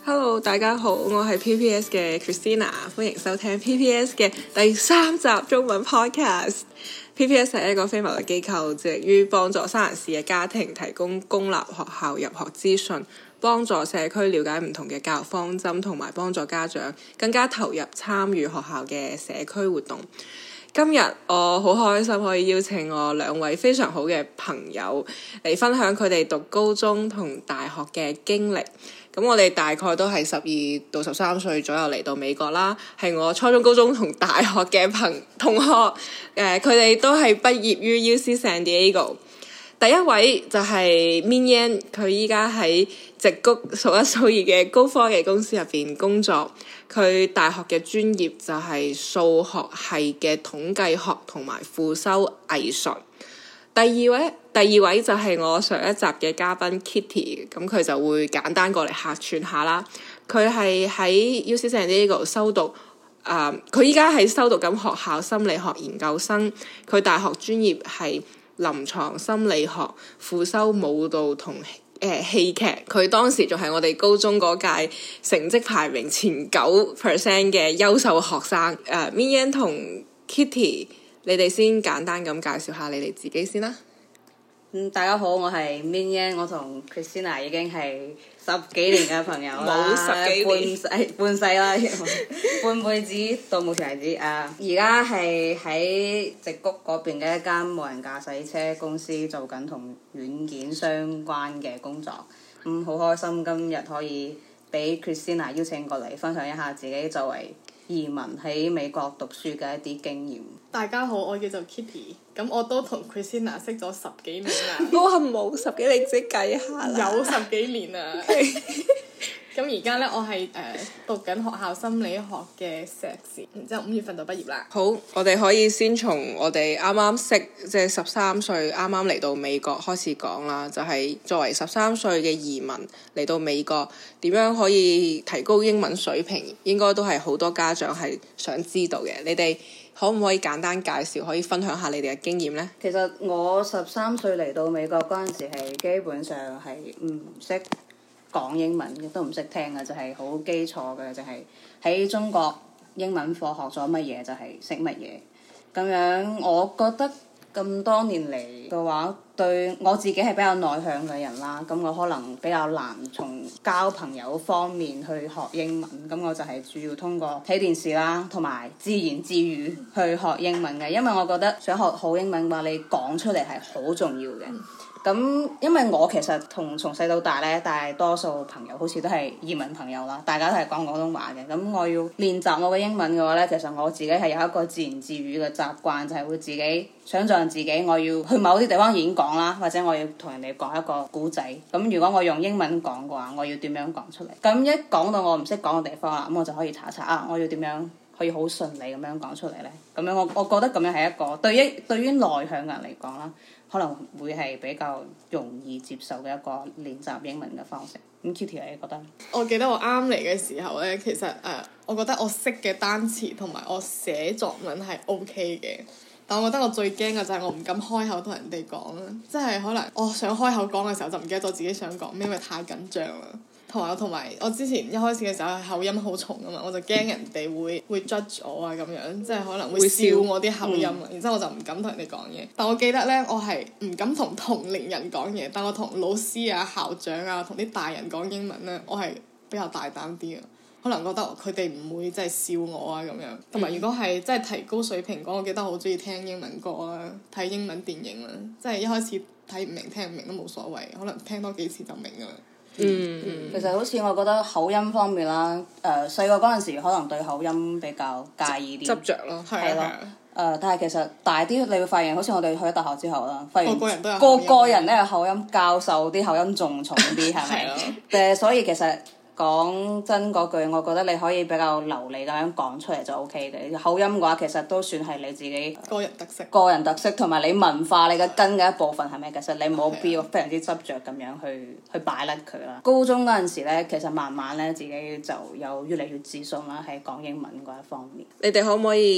Hello，大家好，我係 PPS 嘅 Christina， 歡迎收聽 PPS 嘅第3集中文 podcast。PPS 係一個非牟利機構，致力於幫助三藩市嘅家庭提供公立學校入學資訊，幫助社區了解唔同嘅教育方針，同埋幫助家長更加投入參與學校嘅社區活動。今日我好開心可以邀請我2位非常好嘅朋友嚟分享佢哋讀高中同大學嘅經歷。咁我哋大概都係12到13歲左右嚟到美國啦，係我初中、高中同大學嘅同學。佢哋都係畢業於 UC San Diego。第一位就係 Min Yan， 佢依家喺矽谷數一數二嘅高科技公司入邊工作。佢大學嘅專業就係數學系嘅統計學同埋副修藝術。第二位就係我上一集嘅嘉賓 Kitty， 咁佢就會簡單過嚟客串下啦。佢係喺 UC San Diego 修讀，佢依家係修讀緊學校心理學研究生。佢大學專業係臨床心理學，副修舞蹈同戲劇。佢當時仲係我哋高中嗰屆成績排名前9% 嘅優秀學生。Min Yan 同 Kitty， 你哋先簡單咁介紹下你哋自己先啦。 大家好，我係 Min Yan， 我同 Christina 已經係10幾年嘅朋友啦， 冇10幾年， 半世啦，半輩子到目前為止。而家係喺矽谷嗰邊嘅一間無人駕駛車公司做緊同軟件相關嘅工作。好開心今日可以俾 Christina 邀請過嚟分享一下自己作為移民喺美國讀書嘅一啲經驗。 大家好，我叫做 Kitty， 咁我都同 Christina 識咗10幾年啦。 我係冇10幾，你自己計下啦。 有10幾年啦。咁而家呢，我係讀緊學校心理學嘅碩士，然之後5月份就畢業啦。 好，我哋可以先從我哋啱啱識，即係13歲啱啱嚟到美國開始講啦。就係作為13歲嘅移民嚟到美國，點樣可以提高英文水平，應該都係好多家長係想知道嘅。你哋可唔可以簡單介紹，可以分享下你哋嘅經驗呢？ 其實我13歲嚟到美國嗰陣時係基本上係唔識講英文嘅，都唔識聽嘅，就係好基礎嘅，就係喺中國英文課學咗乜嘢就係識乜嘢。咁樣我覺得咁多年嚟嘅話，對我自己係比較內向嘅人啦，咁我可能比較難從交朋友方面去學英文，咁我就係主要通過睇電視啦，同埋自言自語去學英文嘅。因為我覺得想學好英文嘅話，你講出嚟係好重要嘅。咁因為我其實從細到大咧，大多數朋友好似都係移民朋友啦，大家都係講廣東話嘅。咁我要練習我嘅英文嘅話咧，其實我自己係有一個自言自語嘅習慣，就係會自己想像自己我要去某啲地方演講啦，或者我要同人哋講一個故仔。咁如果我用英文講嘅話，我要點樣講出嚟？咁一講到我唔識講嘅地方啦，咁我就可以查我要點樣可以好順利咁樣講出嚟咧？咁樣我覺得咁樣係一個對於內向嘅人嚟講啦，可能會係比較容易接受嘅一個練習英文嘅方式。咁 Kitty 你覺得？ 我記得我啱嚟嘅時候呢，其實我覺得我識嘅單詞同埋我寫作文係 OK 嘅，但我覺得我最驚嘅就係我唔敢開口同人哋講啦，即係可能我想開口講嘅時候就唔記得咗自己想講咩，因為太緊張啦。同埋我之前一開始嘅時候口音好重啊嘛，我就驚人哋會 judge 我啊咁樣，即係可能會笑我啲口音啊，然之後我就唔敢同人哋講嘢。但我記得呢，我係唔敢同同齡人講嘢，但我同老師啊、校長啊、同啲大人講英文呢，我係比較大膽啲啊。可能覺得佢哋唔會即係笑我啊咁樣。同埋如果係即係提高水平講，我記得我好中意聽英文歌啊，睇英文電影啦，即係一開始睇唔明聽唔明都冇所謂，可能聽多幾次就明㗎啦。 其實好似我覺得口音方面啦，細個嗰陣時可能對口音比較介意啲， 執着咯， 係咯。但係其實大啲，你會發現好似我哋去咗大學之後啦，發現個人都有個人都有口音，教授啲口音仲重啲，係咪？所以其實講真嗰句，我覺得你可以比較流利咁樣講出嚟就 OK 嘅。口音嘅話，其實都算係你自己個人特色同埋你文化你嘅根嘅一部分，係咪？其實你冇必要非常之執着咁樣去擺甩佢啦。高中嗰陣時咧，其實慢慢咧自己就有越嚟越自信啦，喺講英文嗰一方面。 你哋可唔可以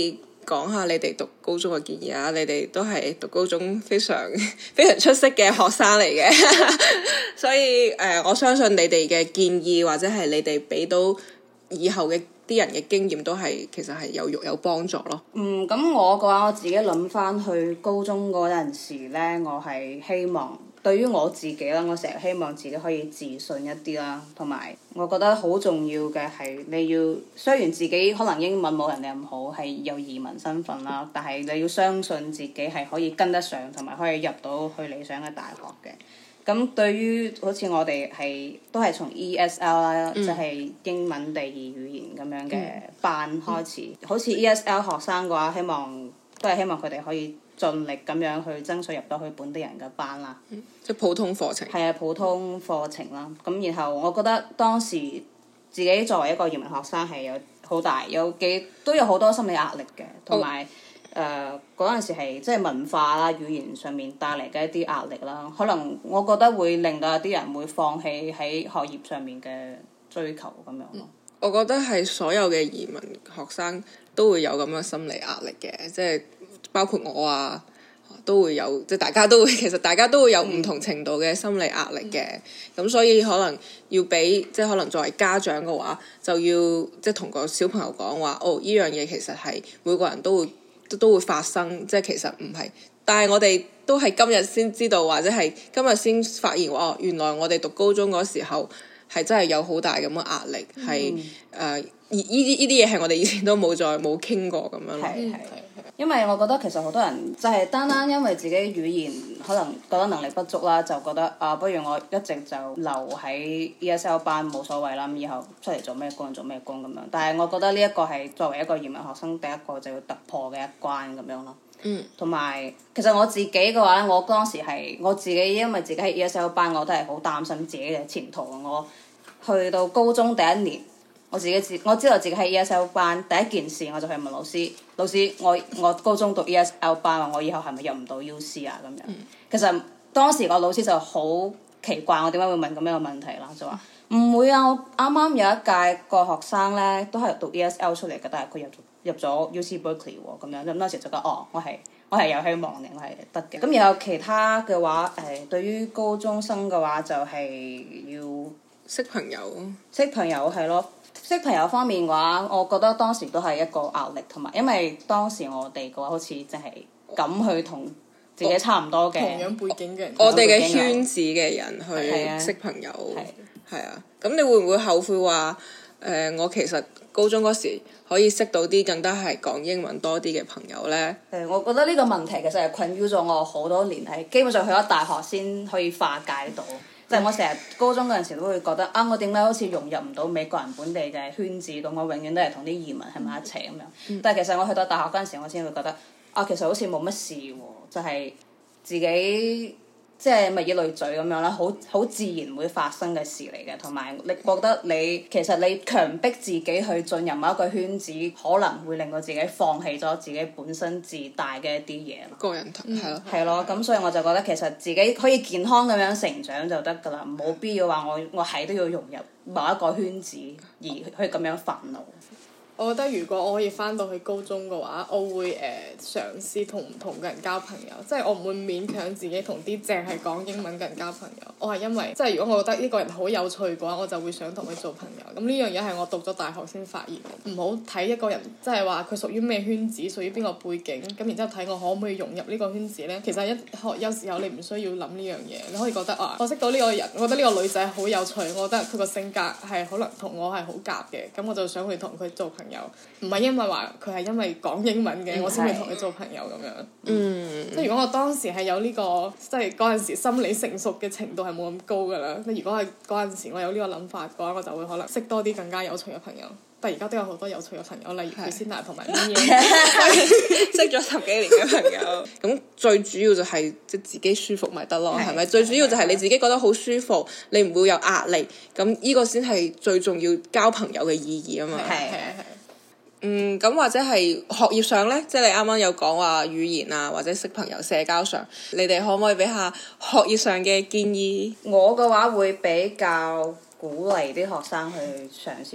講下你哋讀高中嘅建議啊！你哋都係讀高中非常非常出色嘅學生嚟嘅，所以我相信你哋嘅建議或者係你哋俾到以後嘅啲人嘅經驗都係其實係有幫助咯。 咁我嘅話，我自己諗翻去高中嗰陣時咧，我係希望對於我自己啦，我成日希望自己可以自信一啲啦，同埋我覺得好重要嘅係你要雖然自己可能英文冇人哋咁好，係有移民身份啦，但係你要相信自己係可以跟得上，同埋可以入到去理想嘅大學嘅。咁對於好似我哋都係從 ESL 啦，即係英文第二語言咁樣嘅班開始。好似 ESL 學生嘅話，都係希望佢哋可以盡力咁樣去爭取入到去本地人嘅班啦。 即係普通課程。 係啊，普通課程啦。咁然後我覺得當時自己作為一個移民學生係有好大都有好多心理壓力嘅，同埋嗰陣時係即係文化啦、語言上面帶嚟嘅一啲壓力啦，可能我覺得會令到有啲人會放棄喺學業上面嘅追求咁樣咯。 我覺得係所有嘅移民學生都會有咁樣心理壓力嘅，即係包括我啊，都會有，即係其實大家都會有唔同程度嘅心理壓力嘅。咁所以可能要俾即係可能作為家長嘅話，就要即係同個小朋友講話，依樣嘢其實係每個人都會發生，即係其實唔係，但係我哋都係今日先知道，或者係今日先發現原來我哋讀高中嗰時候係真係有好大咁嘅壓力，係呢啲嘢係我哋以前都冇傾過咁樣咯。 因為我覺得其實好多人就係單單因為自己語言可能覺得能力不足啦，就覺得不如我一直就留喺 ESL 班冇所謂啦，咁以後出嚟做咩工咁樣。但係我覺得呢一個係作為一個移民學生第一個就要突破嘅一關咁樣咯。同埋其實我自己嘅話咧，我當時係我自己因為自己喺 ESL 班，我都係好擔心自己嘅前途。我去到高中第一年，我知道自己喺 ESL 班，第一件事我就去問老師，我高中讀 ESL 班，我以後係咪入唔到 UC 啊咁樣？其實當時個老師就好奇怪我點解會問咁樣嘅問題啦，就話唔會啊，我啱啱有一屆個學生咧都係讀 ESL 出嚟嘅，但係佢入咗 UC Berkeley 喎咁樣。咁當時就覺得我係有希望嘅，我係得嘅。咁然後其他嘅話對於高中生嘅話就係要識朋友係咯。識朋友方面嘅話，我覺得當時都係一個壓力，同埋因為當時我哋嘅話好似淨係咁去同自己差唔多嘅同樣背景嘅人， 我哋嘅圈子嘅人去識朋友，係啊。咁你會唔會後悔話我其實高中嗰時可以識到啲更加係講英文多啲嘅朋友呢？ 我覺得呢個問題其實係困擾咗我好多年，係基本上去咗大學先可以化解到。即係我成日高中嗰陣時都會覺得我點解好似融入唔到美國人本地嘅圈子度，我永遠都係同啲移民喺埋一齊咁樣。但係其實我去到大學嗰陣時，我先會覺得其實好似冇乜事喎，就係自己即係物以類聚咁樣啦，好自然會發生嘅事嚟嘅。同埋你覺得其實你強迫自己去進入某一個圈子，可能會令到自己放棄咗自己本身自帶嘅一啲嘢咯。 個人係咯。 係咯，咁所以我就覺得其實自己可以健康咁樣成長就得㗎啦，冇必要話我係都要融入某一個圈子而去咁樣煩惱。 我覺得如果我可以翻到去高中嘅話，我會嘗試同唔同嘅人交朋友，即係我唔會勉強自己同啲淨係講英文嘅人交朋友。我係因為即係如果我覺得呢個人好有趣嘅話，我就會想同佢做朋友。咁呢樣嘢係我讀咗大學先發現嘅。唔好睇一個人即係話佢屬於咩圈子，屬於邊個背景，咁然之後睇我可唔可以融入呢個圈子呢？其實有時候你唔需要諗呢樣嘢，你可以覺得我識到呢個人，我覺得呢個女仔好有趣，我覺得佢個性格係可能同我係好夾嘅，咁我就想去同佢做朋友。唔係因為話佢係因為講英文嘅，我先會同佢做朋友咁樣。即係如果我當時係有呢個，即係嗰陣時心理成熟嘅程度係冇咁高㗎啦。如果係嗰陣時我有呢個諗法嘅話，我就會可能識多啲更加有趣嘅朋友。但係而家都有好多有趣嘅朋友，例如 Christina 同埋 Min， 識咗10幾年嘅朋友。咁最主要就係即係自己舒服咪得咯，係咪？最主要就係你自己覺得好舒服，你唔會有壓力，咁呢個先係最重要交朋友嘅意義啊嘛。 係。 咁或者係學業上呢，即係你啱啱有講話語言啊，或者識朋友、社交上，你哋可唔可以俾下學業上嘅建議？ 我嘅話會比較鼓勵啲學生去嘗試讀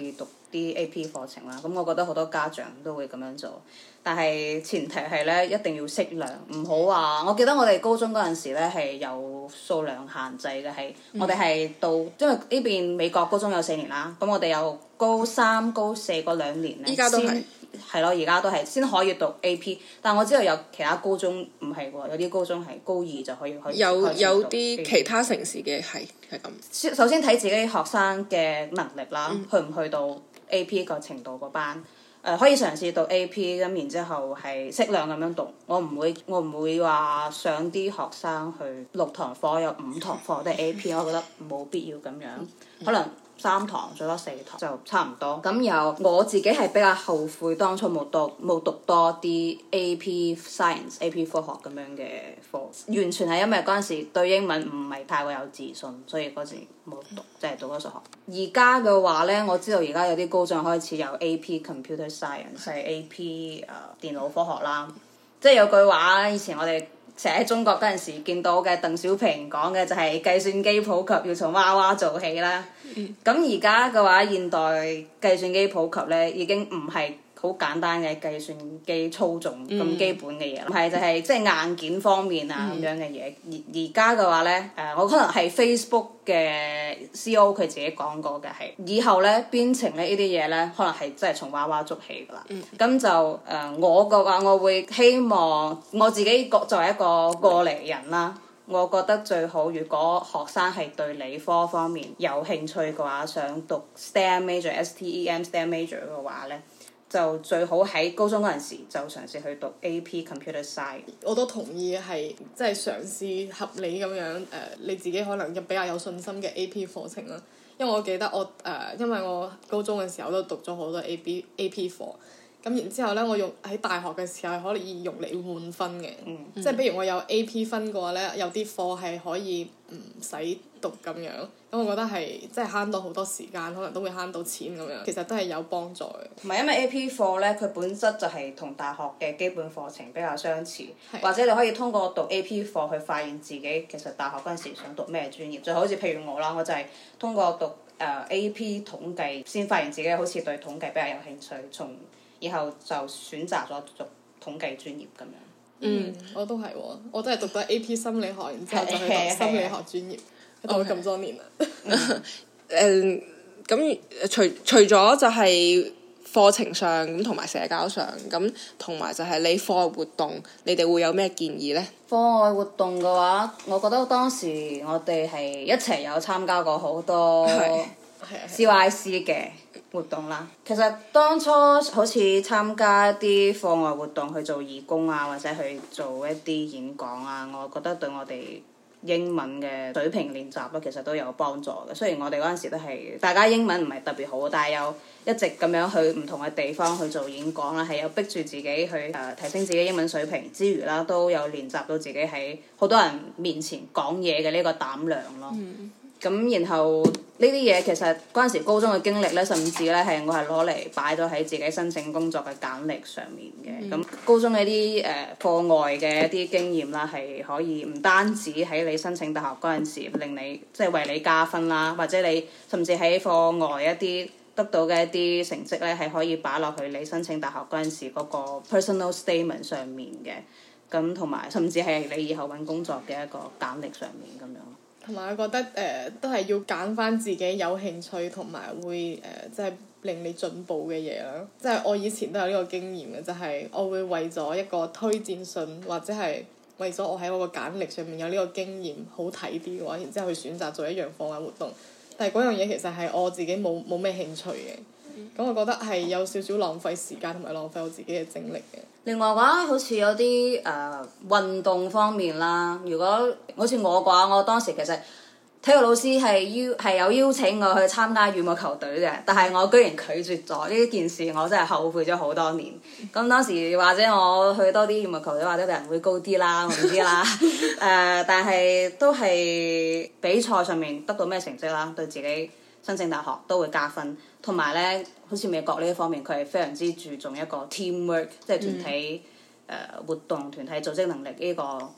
啲 AP 課程啦。咁我覺得好多家長都會咁樣做，但係前提係咧一定要適量，唔好話。我記得我哋高中嗰陣時咧係有數量限制嘅，係我哋係到因為呢邊美國高中有4年啦，咁我哋有高3、高4嗰2年咧， 依家都係係咯，而家都係先可以讀 AP， 但我知道有其他高中唔係喎，有啲高中係高2就可以有啲其他城市嘅係咁。 首先睇自己學生嘅能力啦，去唔去到 AP 個程度個班，可以嘗試讀 AP 咁，然之後係適量咁樣讀。我唔會話上啲學生去6堂課有5堂課都係 AP， 我覺得冇必要咁樣，可能3堂最多4堂就差唔多。咁有我自己係比較後悔當初冇讀多啲 AP Science、AP 科學咁樣嘅課，完全係因為嗰陣時對英文唔係太過有自信，所以嗰時冇讀，即係讀咗數學。而家嘅話呢，我知道而家有啲高中開始有 AP Computer Science， 係 AP 電腦科學啦。即係有句話，以前我哋成日喺中國嗰陣時見到嘅鄧小平講嘅就係計算機普及要從娃娃做起啦。咁而家嘅話，現代計算機普及咧已經唔係好簡單嘅計算機操縱咁基本嘅嘢啦，係就係即係硬件方面啊咁樣嘅嘢。而家嘅話咧，我可能係 Facebook 嘅 CEO 佢自己講過嘅係，以後咧編程咧呢啲嘢咧，可能係真係從娃娃捉起㗎啦。咁就我嘅話，我會希望我自己作為一個過嚟人啦。我覺得最好，如果學生係對理科方面有興趣嘅話，想讀 STEM major、STEM STEM major 嘅話咧，就最好喺高中嗰陣時就嘗試去讀 AP Computer Science。 我都同意係即係嘗試合理咁樣你自己可能比較有信心嘅 AP 課程啦。因為我記得因為我高中嘅時候都讀咗好多 AP 課。咁然之後咧，我喺大學嘅時候係可以用嚟換分嘅，即係比如我有 AP 分嘅話咧，有啲課係可以唔使讀咁樣，咁我覺得係即係慳到好多時間，可能都會慳到錢咁樣，其實都係有幫助嘅。 同埋因為 AP 課咧，佢本質就係同大學嘅基本課程比較相似，或者你可以通過讀 AP 課去發現自己其實大學嗰陣時想讀咩專業，就好似譬如我啦，我就係通過讀AP 統計先發現自己好似對統計比較有興趣，從以後就選擇咗讀統計專業咁樣。 我都係喎，我都係讀咗 AP 心理學，然之後就去讀心理學專業，讀咗咁多年啦。 咁除咗就係課程上咁同埋社交上咁，同埋就係你課外活動，你哋會有咩建議呢？ 課外活動嘅話，我覺得當時我哋係一齊有參加過好多 CYC 嘅活動啦。其實當初好似參加一啲課外活動去做義工啊，或者去做一啲演講啊，我覺得對我哋英文嘅水平練習咧，其實都有幫助嘅。雖然我哋嗰陣時都係大家英文唔係特別好，但係有一直咁樣去唔同嘅地方去做演講啦，係有逼住自己去提升自己英文水平之餘啦，都有練習到自己喺好多人面前講嘢嘅呢個膽量咯。咁然後呢啲嘢其實嗰陣時高中嘅經歷咧，甚至咧係我係攞嚟擺咗喺自己申請工作嘅簡歷上面嘅。咁高中嘅啲課外嘅一啲經驗啦，係可以唔單止喺你申請大學嗰陣時令你即係為你加分啦，或者你甚至喺課外一啲得到嘅一啲成績咧，係可以擺落去你申請大學嗰陣時嗰個 personal statement 上面嘅。咁同埋甚至係你以後揾工作嘅一個簡歷上面咁樣。 同埋我覺得都係要揀翻自己有興趣同埋會即係令你進步嘅嘢啦。即係我以前都有呢個經驗嘅，就係我會為咗一個推薦信或者係為咗我喺我個簡歷上面有呢個經驗好睇啲嘅話，然之後去選擇做一樣課外活動。但係嗰樣嘢其實係我自己冇咩興趣嘅。咁我覺得係有少少浪費時間同埋浪費我自己嘅精力嘅。 另外嘅話，好似有啲運動方面啦，如果好似我嘅話，我當時其實體育老師係有邀請我去參加羽毛球隊嘅，但係我居然拒絕咗呢件事，我真係後悔咗好多年。咁當時或者我去多啲羽毛球隊，或者人會高啲啦，我唔知啦。但係都係比賽上面得到咩成績啦，對自己申請大學都會加分。同埋咧，好似美國呢一方面，佢係非常之注重一個 teamwork，即係團體活動、團體組織能力呢個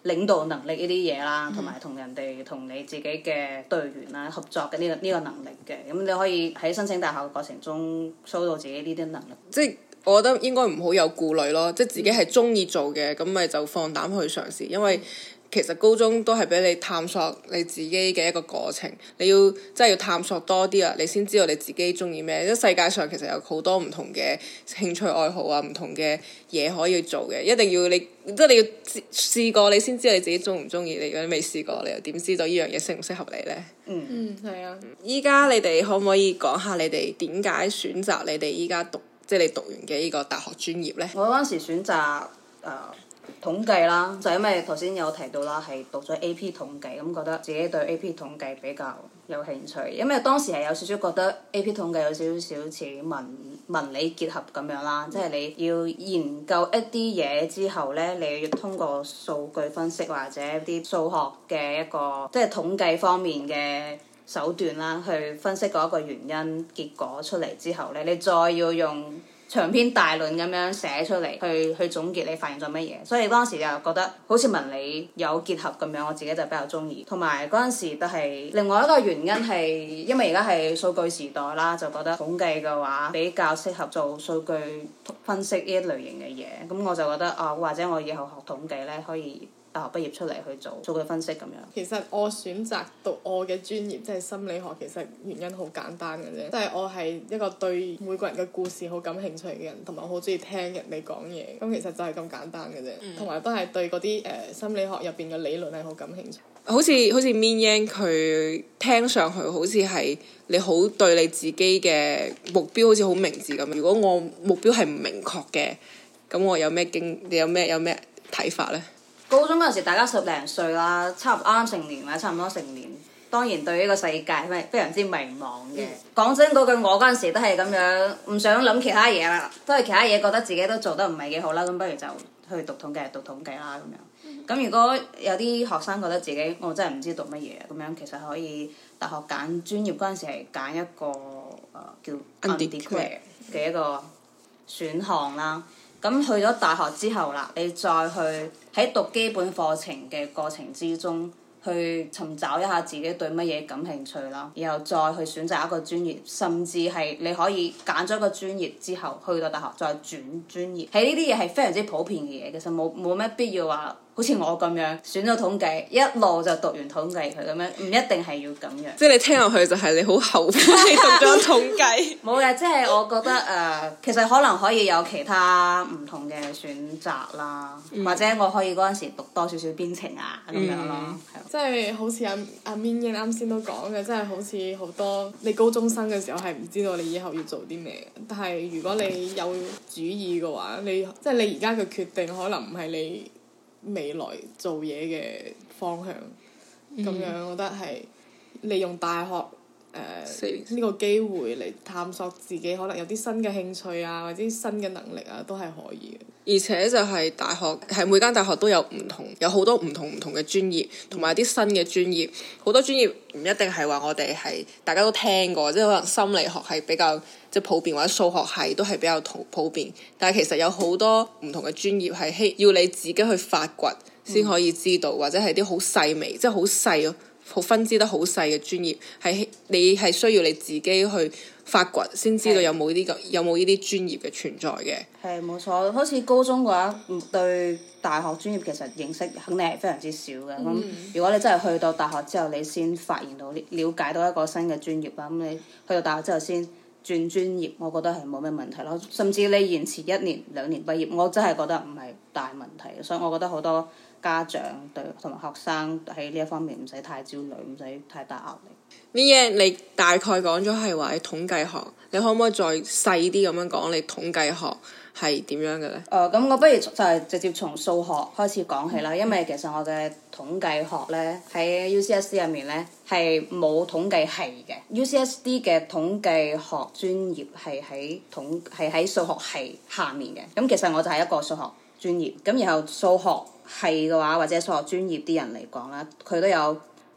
領導能力呢啲嘢啦，同埋同人哋同你自己嘅隊員啦合作嘅呢個能力嘅，咁你可以喺申請大學嘅過程中 show 到自己呢啲能力。 即係我覺得應該唔好有顧慮咯，即係自己係中意做嘅，咁咪就放膽去嘗試，因為其實高中都係俾你探索你自己嘅一個過程，你要真係要探索多啲啊，你先知道你自己中意咩。即世界上其實有好多唔同嘅興趣愛好啊，唔同嘅嘢可以做嘅，一定要你即係你要試過你先知道你自己中唔中意。你如果未試過，你又點知道呢樣嘢適唔適合你呢？ 係啊。 依家你哋可唔可以講下你哋點解選擇你哋依家讀即係你讀完嘅呢個大學專業呢？ 我嗰陣時選擇統計啦，就因為頭先有提到啦，係讀咗 AP 統計，咁覺得自己對 AP 統計比較有興趣，因為當時係有少少覺得 AP 統計有少少似文理結合咁樣啦，即係你要研究一啲嘢之後呢，你要通過數據分析或者啲數學嘅一個即係統計方面嘅手段啦，去分析嗰一個原因結果出嚟之後呢，你再要用長篇大論咁樣寫出嚟，去總結你發現咗乜嘢，所以當時就覺得好似文理有結合咁樣，我自己就比較中意。同埋嗰陣時都係另外一個原因係因為而家係數據時代啦，就覺得統計嘅話比較適合做數據分析呢一類型嘅嘢，咁我就覺得或者我以後學統計呢，可以大學畢業出嚟去做數據分析咁樣。 其實我選擇讀我嘅專業即係心理學，其實原因好簡單嘅啫，即係我係一個對每個人嘅故事好感興趣嘅人，同埋我好中意聽人哋講嘢，咁其實就係咁簡單嘅啫，同埋都係對嗰啲心理學入邊嘅理論係好感興趣。 好似 Min Yang 佢聽上去好似係你好對你自己嘅目標好似好明智咁。如果我目標係唔明確嘅，咁我有咩睇法呢？ 高中嗰陣時，大家10零歲啦，差唔多啱成年或者差唔多成年，當然對呢個世界係非常之迷茫嘅。講真嗰句，我嗰陣時都係咁樣，唔想諗其他嘢啦，都係其他嘢覺得自己都做得唔係幾好啦，咁不如就去讀統計啦咁樣。咁如果有啲學生覺得自己我真係唔知讀乜嘢咁樣，其實可以大學揀專業嗰陣時係揀一個叫 undeclared 嘅一個選項啦。咁去咗大學之後啦，你再去喺讀基本課程嘅過程之中，去尋找一下自己對乜嘢感興趣啦，然後再去選擇一個專業，甚至係你可以揀咗一個專業之後，去到大學再轉專業。喺呢啲嘢係非常之普遍嘅嘢，其實冇咩必要話好似我咁樣選咗統計，一路就讀完統計佢咁樣，唔一定係要咁樣。 即係你聽落去就係你好後悔你讀咗統計。 冇嘅，即係我覺得其實可能可以有其他唔同嘅選擇啦，或者我可以嗰陣時讀多少少編程啊咁樣咯。 即係好似阿 Min Yang 啱先都講嘅，即係好似好多你高中生嘅時候係唔知道你以後要做啲咩，但係如果你有主意嘅話，你即係你而家嘅決定可能唔係你未來做嘢嘅方向，咁樣我覺得係利用大學呢個機會嚟探索自己，可能有啲新嘅興趣啊，或者新嘅能力啊，都係可以嘅。 而且就係大學係每間大學都有好多唔同嘅專業，同埋啲新嘅專業。好多專業唔一定係話我哋係大家都聽過，即係可能心理學係比較即係普遍，或者數學系都係比較普遍。但係其實有好多唔同嘅專業係要你自己去發掘先可以知道，或者係啲好細微，即係好細好分支得好細嘅專業，係你係需要你自己去發掘先知道有冇呢啲專業嘅存在嘅。 係冇錯，好似高中嘅話，對大學專業其實認識肯定係非常之少嘅。咁如果你真係去到大學之後，你先發現到了解到一個新嘅專業啦，咁你去到大學之後先轉專業，我覺得係冇咩問題咯。甚至你延遲1年2年畢業，我真係覺得唔係大問題。所以我覺得好多家長對同埋學生喺呢一方面唔使太焦慮，唔使太大壓力。 Min Yang，你大概講咗係話你統計學，你可唔可以再細啲咁樣講你統計學係點樣嘅咧？ 咁我不如就係直接從數學開始講起啦，因為其實我嘅統計學咧喺 UCSD 入面咧係冇統計系嘅。UCSD 嘅統計學專業係喺數學系下面嘅。咁其實我就係一個數學專業，咁然後數學系嘅話或者數學專業啲人嚟講啦，佢都有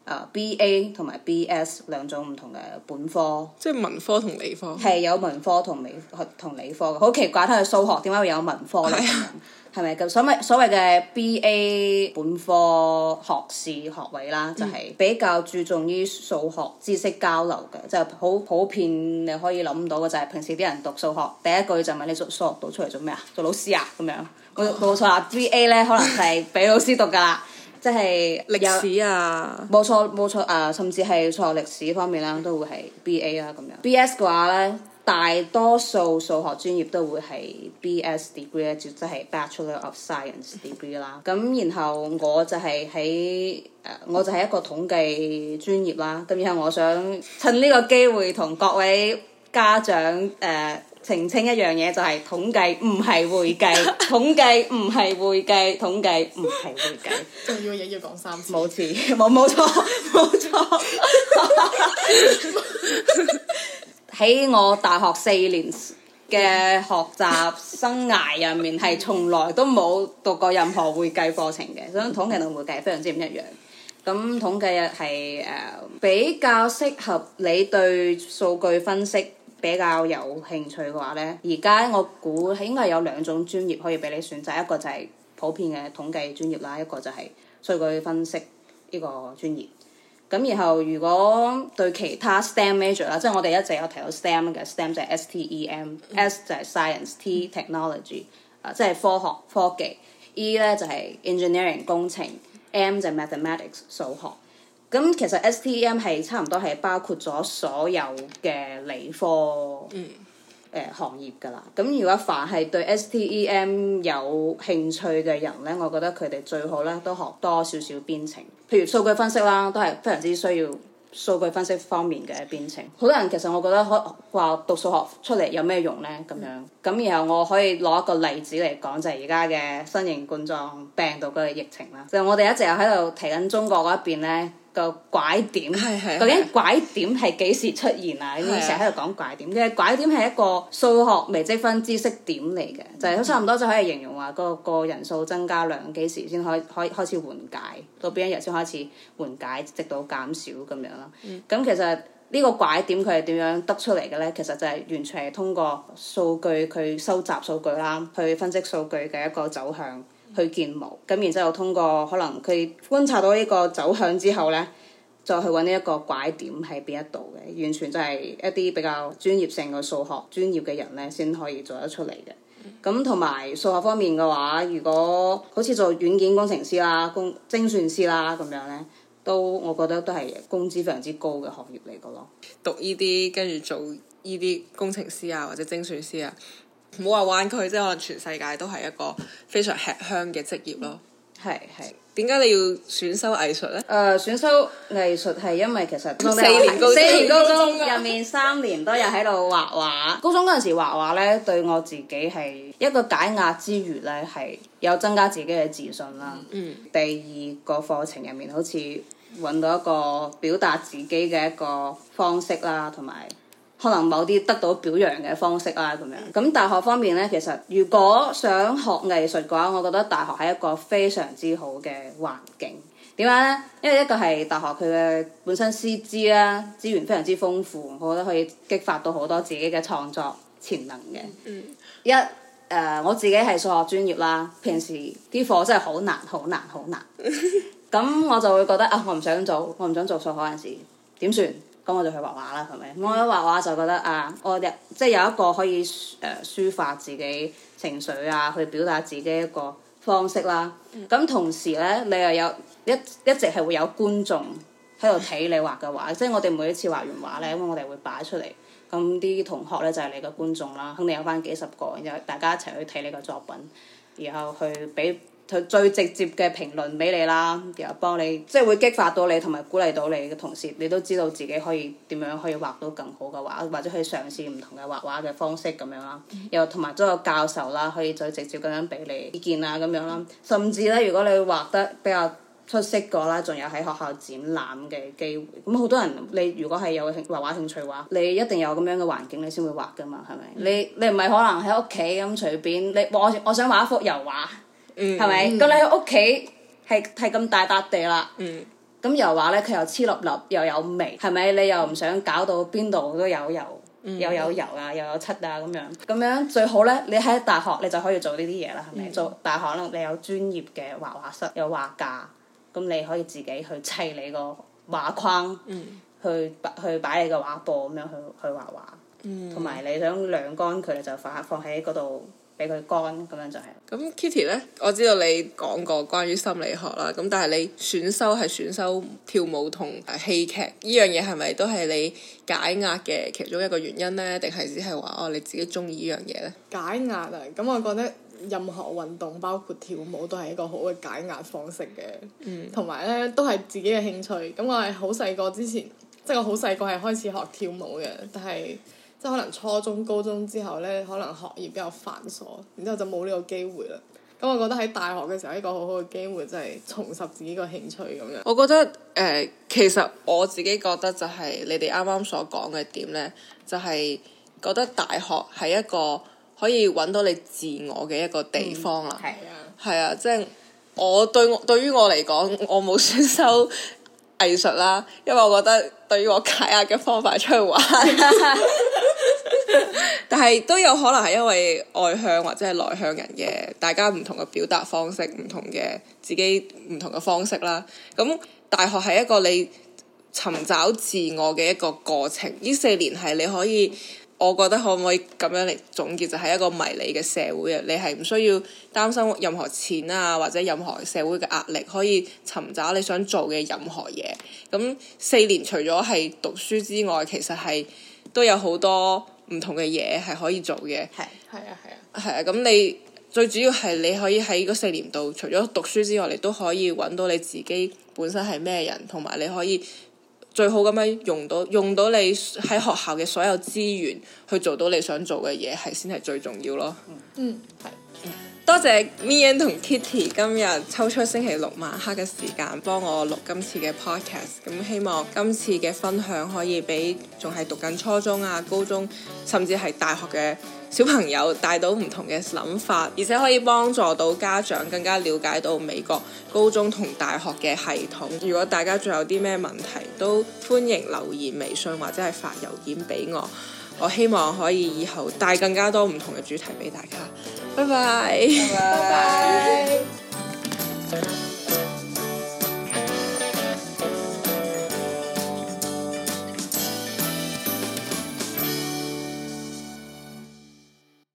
BA 同埋 BS 兩種唔同嘅本科。 即係文科同理科。 係有文科同理科嘅，好奇怪，睇佢數學點解會有文科咧咁樣？係咪咁所謂嘅 BA 本科學士學位啦，就係比較注重於數學知識交流嘅，就係好普遍你可以諗到嘅就係平時啲人讀數學第一句就問你數學讀出嚟做咩啊？做老師啊咁樣。冇錯啦，BA 咧可能係俾老師讀㗎啦，即係歷史啊。 冇錯甚至係數學歷史方面啦，都會係 BA 啦咁樣。BS 嘅話咧，大多數數學專業都會係 BS degree 咧，即係 Bachelor of Science degree 啦。咁然後我就係一個統計專業啦。咁然後我想趁呢個機會同各位家長澄清一樣嘢，就係統計唔係會計，統計唔係會計，統計唔係會計。 重要嘅嘢要講3次。 冇錯。喺我大學4年嘅學習生涯入面，係從來都冇讀過任何會計課程嘅，所以統計同會計非常之唔一樣。咁統計係比較適合你對數據分析比較有興趣嘅話呢，而家我估應該有2種專業可以俾你選擇，一個就係普遍嘅統計專業啦，一個就係數據分析呢個專業。咁然後如果對其他 STEM major 啦，即係我哋一直有提到 STEM 嘅 STEM 就係 STEM，S 就係 Science，T Technology，即係科學科技，E 咧就係 Engineering 工程，M 就係 Mathematics 數學。咁其實 STEM 係差唔多係包括咗所有嘅理科行業㗎啦。咁如果凡係對 STEM 有興趣嘅人咧，我覺得佢哋最好咧都學多少少編程，譬如數據分析啦，都係非常之需要數據分析方面嘅編程。好多人其實我覺得話讀數學出嚟有咩用咧咁樣。咁然後我可以攞一個例子嚟講，就係而家嘅新型冠狀病毒嘅疫情啦。就我哋一直又喺度提緊中國嗰一邊咧。個拐點，究竟拐點係幾時出現啊？你成日喺度講拐點嘅，拐點係一個數學微積分知識點嚟嘅，就係差唔多就可以形容話個人數增加量幾時先可以開始緩解，到邊一日先開始緩解，直到減少咁樣啦。咁其實呢個拐點佢係點樣得出嚟嘅咧？其實就係完全係通過數據佢收集數據啦，去分析數據嘅一個走向。去建模，咁然之後通過可能佢觀察到呢個走向之後呢，再去揾呢一個拐點喺邊一度嘅，完全就係一啲比較專業性嘅數學專業嘅人呢先可以做得出嚟嘅。咁同埋數學方面嘅話，如果好似做軟件工程師啦、精算師啦咁樣呢，我覺得都係工資非常之高嘅行業嚟嘅咯。 讀呢啲跟住做呢啲工程師啊，或者精算師啊。唔好話灣區，即係可能全世界都係一個非常吃香嘅職業咯。 係。 點解你要選修藝術呢？ 選修藝術係因為其實 4年高中入面3年都有喺度畫畫。高中嗰陣時畫畫咧，對我自己係一個解壓之餘咧，係有增加自己嘅自信啦。第二個課程入面好似揾到一個表達自己嘅一個方式啦，同埋可能某啲得到表揚嘅方式啦咁樣。咁大學方面咧，其實如果想學藝術嘅話，我覺得大學係一個非常之好嘅環境。點解咧？因為一個係大學佢嘅本身師資啦，資源非常之豐富，我覺得可以激發到好多自己嘅創作潛能嘅。我自己係數學專業啦，平時啲課真係好難。咁我就會覺得我唔想做數學嗰陣時點算？咁我就去畫畫啦，係咪？我一畫畫就覺得我即係有一個可以抒發自己情緒啊，去表達自己一個方式啦。咁同時咧，你又有一直係會有觀眾喺度睇你畫嘅畫，即係我哋每一次畫完畫咧，咁我哋會擺出嚟，咁啲同學咧就係你嘅觀眾啦，肯定有翻幾十個，然後大家一齊去睇你嘅作品，然後去俾佢最直接嘅評論俾你啦，然後幫你即係會激發到你同埋鼓勵到你嘅同時，你都知道自己可以點樣可以畫到更好嘅畫，或者去嘗試唔同嘅畫畫嘅方式咁樣啦。又同埋都有教授啦，可以最直接咁樣俾你意見啊咁樣啦。甚至咧，如果你畫得比較出色嘅啦，仲有喺學校展覽嘅機會。咁好多人，你如果係有畫畫興趣嘅話，你一定有咁樣嘅環境，你先會畫噶嘛，係咪？你唔係可能喺屋企咁隨便，我想畫一幅油畫。係咪？咁你喺屋企係咁大笪地啦， 咁油畫咧，佢又黐粒粒，又有味，係咪？你又唔想搞到邊度都有油，又有油啊，又有漆啊咁樣。咁樣最好咧，你喺大學你就可以做呢啲嘢啦，係咪？做大學咧，你有專業嘅畫畫室，有畫架，咁你可以自己去砌你個畫框，去擺你個畫布咁樣去畫畫，同埋你想晾乾佢，就放喺嗰度。俾佢乾咁樣就係。 咁 Kitty 呢，我知道你講過關於心理學啦，咁但係你選修跳舞同戲劇呢樣嘢，係咪都係你解壓嘅其中一個原因呢？定係只係話你自己中意呢樣嘢呢？ 解壓啊！咁我覺得任何運動包括跳舞都係一個好嘅解壓方式嘅，同埋呢都係自己嘅興趣。咁我係好細個之前，即係我好細個係開始學跳舞嘅，但係即係可能初中、高中之後呢，可能學業比較繁瑣，然之後就冇呢個機會啦。咁我覺得喺大學嘅時候，一個好好嘅機會就係重拾自己個興趣咁樣。 我覺得其實我自己覺得就係你哋啱啱所講嘅點呢，就係覺得大學係一個可以揾到你自我嘅一個地方啦。係啊，即係對於我嚟講，我冇選修藝術啦，因為我覺得對於我解壓嘅方法係出去玩。但係都有可能係因為外向或者係內向人嘅，大家唔同嘅表達方式，唔同嘅自己唔同嘅方式啦。咁大學係一個你尋找自我嘅一個過程。呢4年係你可以，我覺得可唔可以咁樣嚟總結，就係一個迷你嘅社會啊！你係唔需要擔心任何錢啊，或者任何社會嘅壓力，可以尋找你想做嘅任何嘢。咁4年除咗係讀書之外，其實係都有好多唔同嘅嘢係可以做嘅。係啊，咁你最主要係你可以喺嗰4年度，除咗讀書之外，你都可以揾到你自己本身係咩人，同埋你可以最好咁樣用到你喺學校嘅所有資源去做到你想做嘅嘢，係先係最重要咯。多謝 Mian 同 Kitty 今日抽出星期六晚黑嘅時間幫我錄今次嘅 podcast。咁希望今次嘅分享可以俾仲係讀緊初中啊、高中甚至係大學嘅小朋友帶到唔同嘅諗法，而且可以幫助到家長更加了解到美國高中同大學嘅系統。如果大家仲有啲咩問題，都歡迎留言微信或者係發郵件俾我。我希望可以以後帶更加多唔同嘅主題俾大家。拜拜。